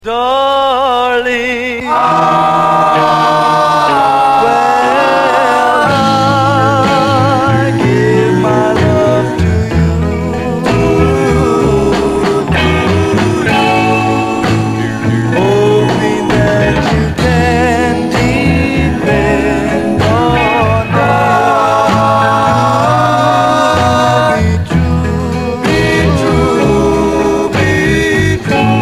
Darling, well, I give my love to you, hoping that you can depend on me. Be true, be true.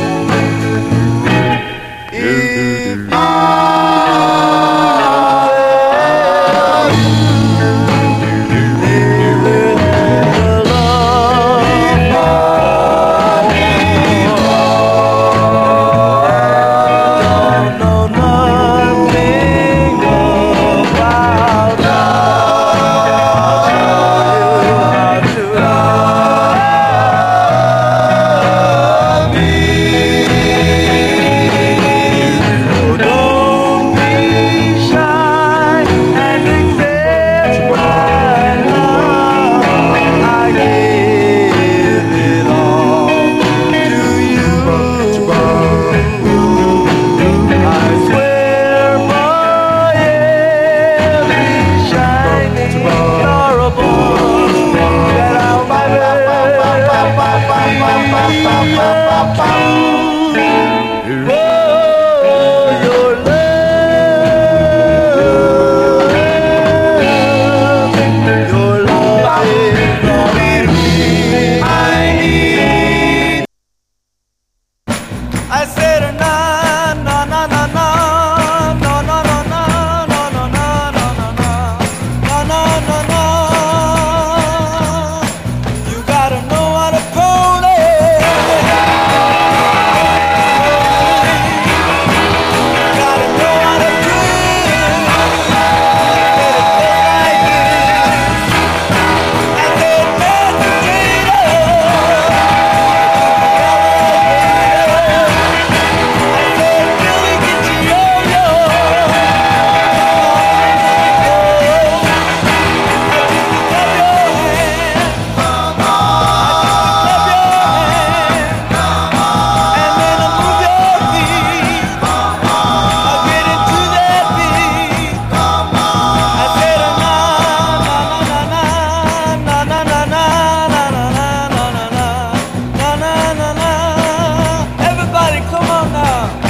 If you I said na na na na na na na na na na na na na na na na. You gotta know how to pony. You gotta know how to dream. Like this. I said everybody, come on now.